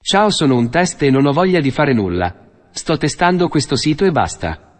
Ciao, sono un test e non ho voglia di fare nulla. Sto testando questo sito e basta.